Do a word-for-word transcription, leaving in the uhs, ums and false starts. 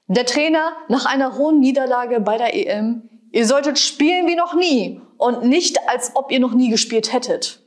Der Trainer nach einer hohen Niederlage bei der E M: Ihr solltet spielen wie noch nie und nicht, als ob ihr noch nie gespielt hättet.